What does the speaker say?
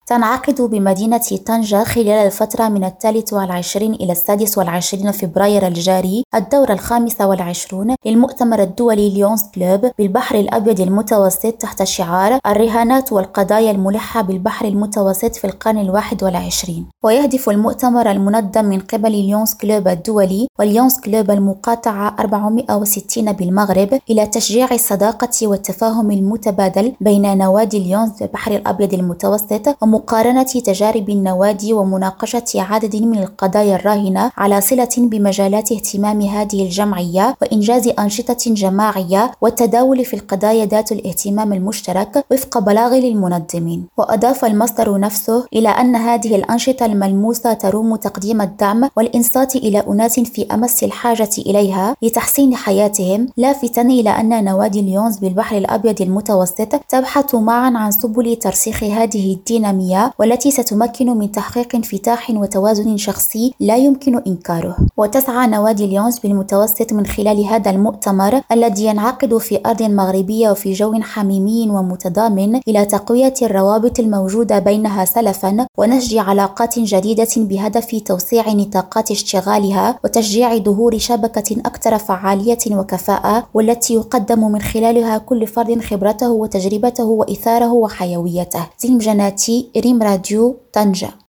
تنعقد بمدينة طنجة خلال الفترة من 23 إلى 26 فبراير الجاري الدورة 25 للمؤتمر الدولي ليونز كلوب بالبحر الأبيض المتوسط تحت شعار الرهانات والقضايا الملحة بالبحر المتوسط في القرن 21. ويهدف المؤتمر المنظم من قبل ليونز كلوب الدولي وليونز كلوب المقاطعة 460 بالمغرب إلى تشجيع الصداقة والتفاهم المتبادل بين نوادي ليونز بالبحر الأبيض المتوسط ومقارنة تجارب النوادي ومناقشة عدد من القضايا الراهنة على صلة بمجالات اهتمام هذه الجمعية وإنجاز أنشطة جماعية والتداول في القضايا ذات الاهتمام المشترك وفق بلاغ للمنظمين. وأضاف المصدر نفسه إلى أن هذه الأنشطة الملموسة تروم تقديم الدعم والإنصات إلى أناس في أمس الحاجة إليها لتحسين حياتهم، لافتا إلى أن نوادي ليونز بالبحر الأبيض المتوسط تبحث معا عن سبل ترسيخ هذه الدينامية والتي ستمكن من تحقيق انفتاح وتوازن شخصي لا يمكن إنكاره. وتسعى نوادي ليونز بالمتوسط من خلال هذا المؤتمر الذي ينعقد في أرض مغربية وفي جو حميمي ومتضامن إلى تقوية الروابط الموجودة بينها سلفا ونسج علاقات جديدة بهدف توسيع نطاقات اشتغالها وتشجيع ظهور شبكة أكثر فعالية وكفاءة والتي يقدم من خلالها كل فرد خبرته وتجربته وإثاره وحيويته. زين جناتي، ريم راديو، طنجة.